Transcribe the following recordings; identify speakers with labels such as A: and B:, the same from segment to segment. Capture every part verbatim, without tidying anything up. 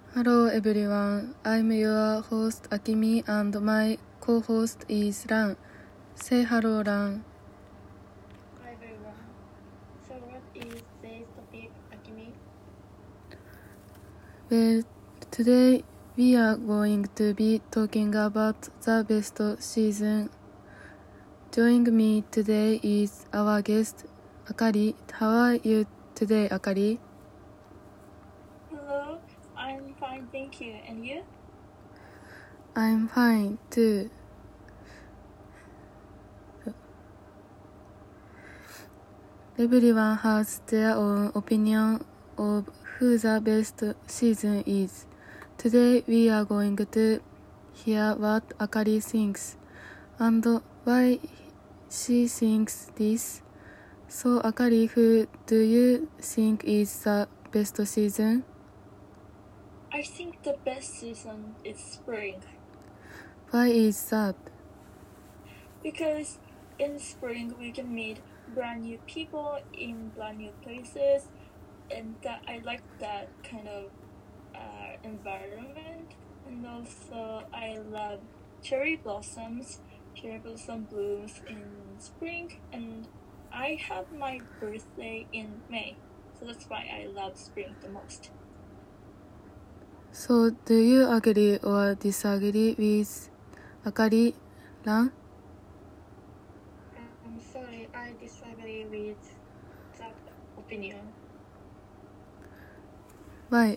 A: Hello everyone, I'm your host Akimi and my co-host is Ran. Say hello, Ran.
B: Hi everyone. So what is today's topic, Akimi?
A: Well, today we are going to be talking about the best season. Joining me today is our guest, Akari. How are you today, Akari?
B: Hello, I'm fine, thank you. And you?
A: I'm fine too. Everyone has their own opinion of who the best season is. Today we are going to hear what Akari thinks and why she thinks this. So Akari, who do you think is the best season?
B: I think the best season is spring.
A: Why is that?
B: Because in spring we can meet brand new people in brand new places, and that I like that kind of uh, environment. And also I love cherry blossoms, cherry blossom blooms in spring, and I have my birthday in May, so that's why I love spring the most.
A: So do you agree or disagree with Akari, Ran?
B: I'm sorry, I disagree with that opinion.
A: Why?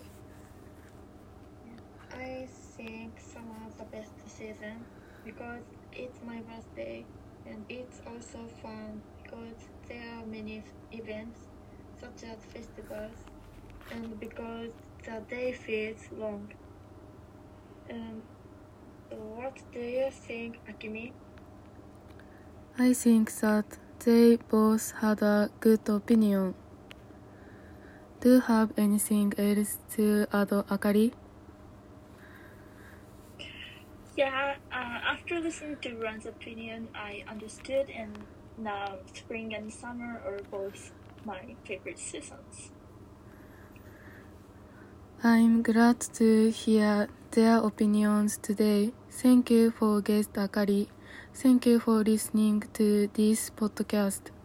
B: I think summer is the best season because it's my birthday, and it's also fun because there are many events such as festivals, and because the day feels long. And what do you think, Akimi?
A: I think that they both had a good opinion. Do you have anything else to add, Akari?
B: Yeah, uh, after listening to Ron's opinion, I understood, and now spring and summer are both my favorite seasons.
A: I'm glad to hear their opinions today. Thank you for guest Akari. Thank you for listening to this podcast.